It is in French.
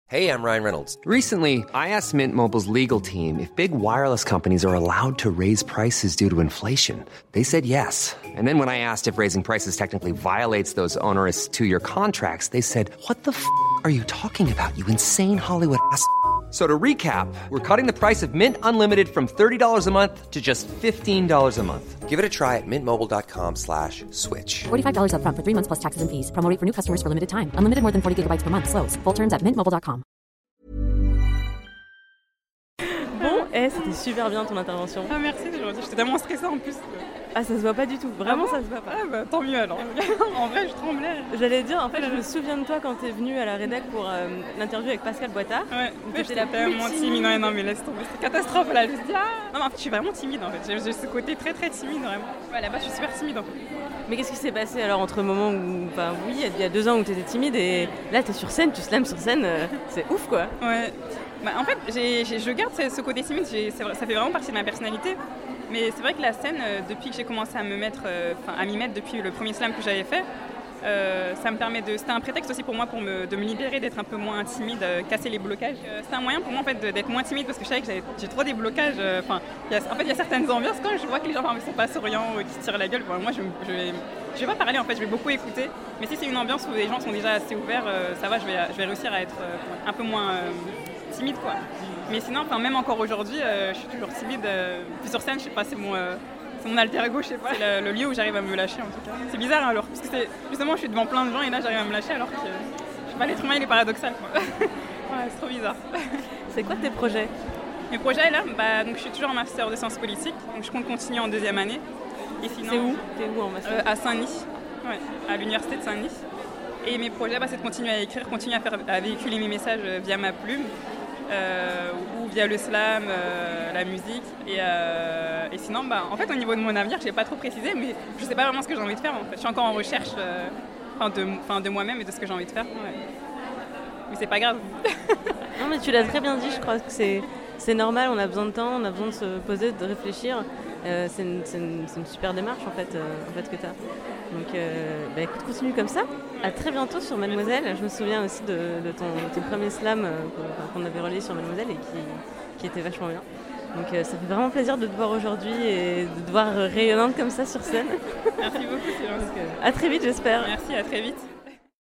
Hey, I'm Ryan Reynolds. Recently, I asked Mint Mobile's legal team if big wireless companies are allowed to raise prices due to inflation. They said yes. And then when I asked if raising prices technically violates those onerous two-year contracts, they said, "What the f*** are you talking about, you insane Hollywood ass?" So to recap, we're cutting the price of Mint Unlimited from $30 a month to just $15 a month. Give it a try at mintmobile.com/switch. $45 up front for 3 months plus taxes and fees. Promo rate for new customers for limited time. Unlimited more than 40 gigabytes per month. Slows full terms at mintmobile.com. Bon, c'était super bien ton intervention. Ah merci, c'est gentil. J'étais tellement stressée en plus. Ah, ça se voit pas du tout. Vraiment, Ah bon ça se voit pas. Ah bah tant mieux alors. En vrai, je tremblais. J'allais dire, en fait, je me souviens de toi quand t'es venue à la rédac pour l'interview avec Pascal Boitard. Ouais, T'étais j'étais la plus tellement timide. Non mais laisse tomber. C'est catastrophe là. Je me dis non mais en fait, je suis vraiment timide en fait. J'ai ce côté très très timide vraiment. Ouais, là-bas, je suis super timide en fait. Mais qu'est-ce qui s'est passé alors entre le moment où, enfin oui, il y a 2 ans où t'étais timide et là t'es sur scène, tu slams sur scène, c'est ouf quoi. Ouais. Bah, en fait, je garde ce côté timide. Ça fait vraiment partie de ma personnalité. Mais c'est vrai que la scène, depuis que j'ai commencé à m'y mettre depuis le premier slam que j'avais fait, ça me permet c'était un prétexte aussi pour moi de me libérer, d'être un peu moins timide, casser les blocages. C'est un moyen pour moi en fait d'être moins timide parce que je savais que j'ai trop des blocages. Il y a certaines ambiances quand je vois que les gens ne sont pas souriants ou qui se tirent la gueule. Moi, je vais pas parler en fait, je vais beaucoup écouter. Mais si c'est une ambiance où les gens sont déjà assez ouverts, ça va, je vais réussir à être un peu moins timide quoi. Mais sinon, même encore aujourd'hui, je suis toujours timide. Puis sur scène, je sais pas, c'est mon alter ego, je sais pas. C'est le lieu où j'arrive à me lâcher en tout cas. C'est bizarre alors, parce que justement, je suis devant plein de gens et là, j'arrive à me lâcher alors que, je sais pas, l'être humain, il est paradoxal quoi. Ouais, c'est trop bizarre. C'est quoi tes projets ? Mes projets là, donc je suis toujours en master de sciences politiques, donc je compte continuer en 2e année. Et sinon, c'est où ? T'es où en master ? À Saint-Denis, ouais, à l'université de Saint-Denis. Et mes projets, c'est de continuer à écrire, continuer à véhiculer mes messages via ma plume. Ou via le slam, la musique et sinon en fait au niveau de mon avenir j'ai pas trop précisé mais je sais pas vraiment ce que j'ai envie de faire en fait. Je suis encore en recherche de moi-même et de ce que j'ai envie de faire mais c'est pas grave. Non mais tu l'as très bien dit, je crois que c'est normal, on a besoin de temps, on a besoin de se poser, de réfléchir. C'est une super démarche en fait que tu as. Donc écoute, continue comme ça. À très bientôt sur Mademoiselle. Je me souviens aussi de ton premier slam qu'on avait relayé sur Mademoiselle et qui était vachement bien. Donc ça fait vraiment plaisir de te voir aujourd'hui et de te voir rayonnante comme ça sur scène. Merci beaucoup, c'est gentil. À très vite j'espère. Merci, à très vite.